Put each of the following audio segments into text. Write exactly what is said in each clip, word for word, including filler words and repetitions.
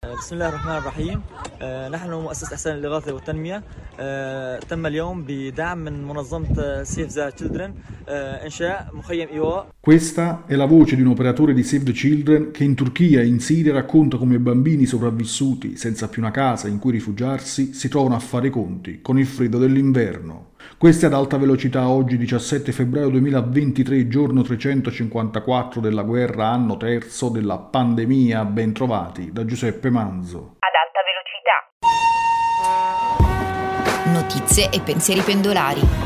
بسم الله الرحمن الرحيم. نحن مؤسسة إحسان الإغاثة والتنمية. تم اليوم بدعم من منظمة Save the Children إنشاء مخيم إيواء. Questa è la voce di un operatore di Save the Children che in Turchia e in Siria racconta come bambini sopravvissuti, senza più una casa in cui rifugiarsi, si trovano a fare i conti con il freddo dell'inverno. Questa è ad alta velocità oggi diciassette febbraio duemilaventitré, giorno trecentocinquantaquattro della guerra, anno terzo della pandemia. Ben trovati da Giuseppe Manzo. Ad alta velocità. Notizie e pensieri pendolari.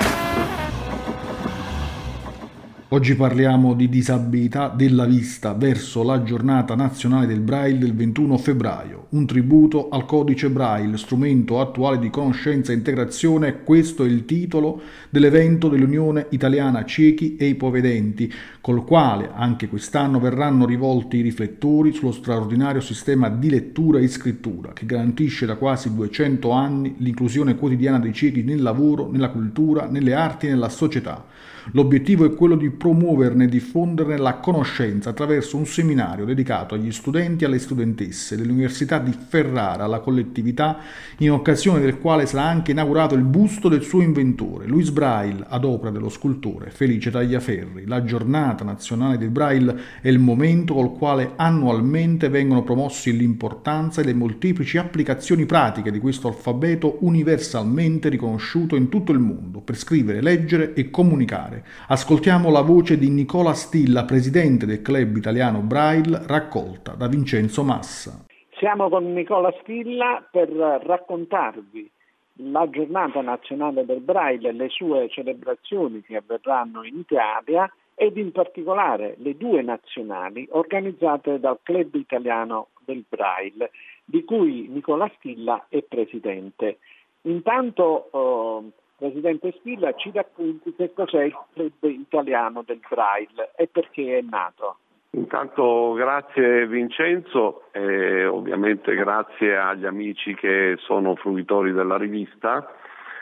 Oggi parliamo di disabilità della vista verso la giornata nazionale del Braille del ventuno febbraio, un tributo al codice Braille, strumento attuale di conoscenza e integrazione. Questo è il titolo dell'evento dell'Unione Italiana Ciechi e Ipovedenti, col quale anche quest'anno verranno rivolti i riflettori sullo straordinario sistema di lettura e scrittura che garantisce da quasi duecento anni l'inclusione quotidiana dei ciechi nel lavoro, nella cultura, nelle arti e nella società. L'obiettivo è quello di promuoverne e diffonderne la conoscenza attraverso un seminario dedicato agli studenti e alle studentesse dell'Università di Ferrara, alla collettività, in occasione del quale sarà anche inaugurato il busto del suo inventore, Louis Braille, ad opera dello scultore Felice Tagliaferri. La giornata nazionale del Braille è il momento col quale annualmente vengono promossi l'importanza e le molteplici applicazioni pratiche di questo alfabeto universalmente riconosciuto in tutto il mondo per scrivere, leggere e comunicare. Ascoltiamo la voce di Nicola Stilla, presidente del Club Italiano Braille, raccolta da Vincenzo Massa. Siamo con Nicola Stilla per raccontarvi la giornata nazionale del Braille e le sue celebrazioni che avverranno in Italia ed in particolare le due nazionali organizzate dal Club Italiano del Braille, di cui Nicola Stilla è presidente. Intanto eh, Presidente Stilla, ci racconti che cos'è il Club Italiano del Braille e perché è nato. Intanto grazie Vincenzo e ovviamente grazie agli amici che sono fruitori della rivista.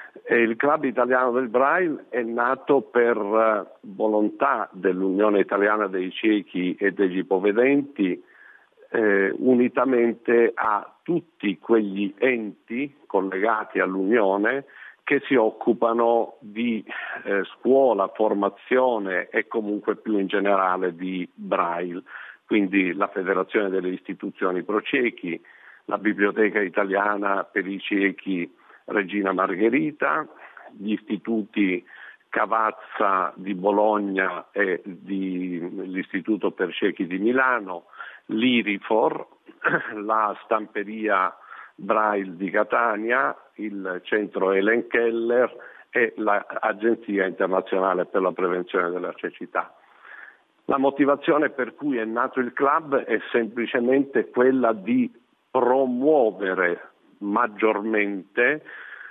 E il Club Italiano del Braille è nato per volontà dell'Unione Italiana dei Ciechi e degli Ipovedenti, eh, unitamente a tutti quegli enti collegati all'Unione che si occupano di eh, scuola, formazione e comunque più in generale di Braille, quindi la Federazione delle Istituzioni Pro Ciechi, la Biblioteca Italiana per i Ciechi Regina Margherita, gli istituti Cavazza di Bologna e di, l'Istituto per Ciechi di Milano, l'Irifor, la Stamperia Braille di Catania, il centro Helen Keller e l'Agenzia Internazionale per la Prevenzione della Cecità. La motivazione per cui è nato il club è semplicemente quella di promuovere maggiormente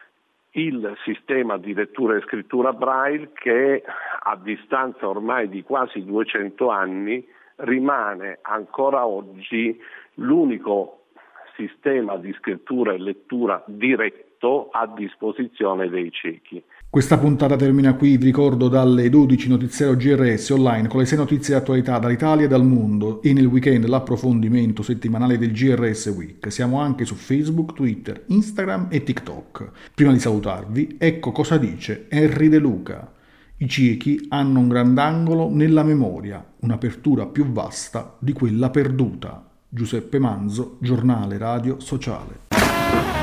il sistema di lettura e scrittura Braille che a distanza ormai di quasi duecento anni rimane ancora oggi l'unico sistema di scrittura e lettura diretto a disposizione dei ciechi. Questa puntata termina qui, vi ricordo dalle dodici notiziero G R S online con le sei notizie di attualità dall'Italia e dal mondo e nel weekend l'approfondimento settimanale del G R S Week. Siamo anche su Facebook, Twitter, Instagram e TikTok. Prima di salutarvi, ecco cosa dice Henry De Luca. I ciechi hanno un grandangolo nella memoria, un'apertura più vasta di quella perduta. Giuseppe Manzo, Giornale Radio Sociale.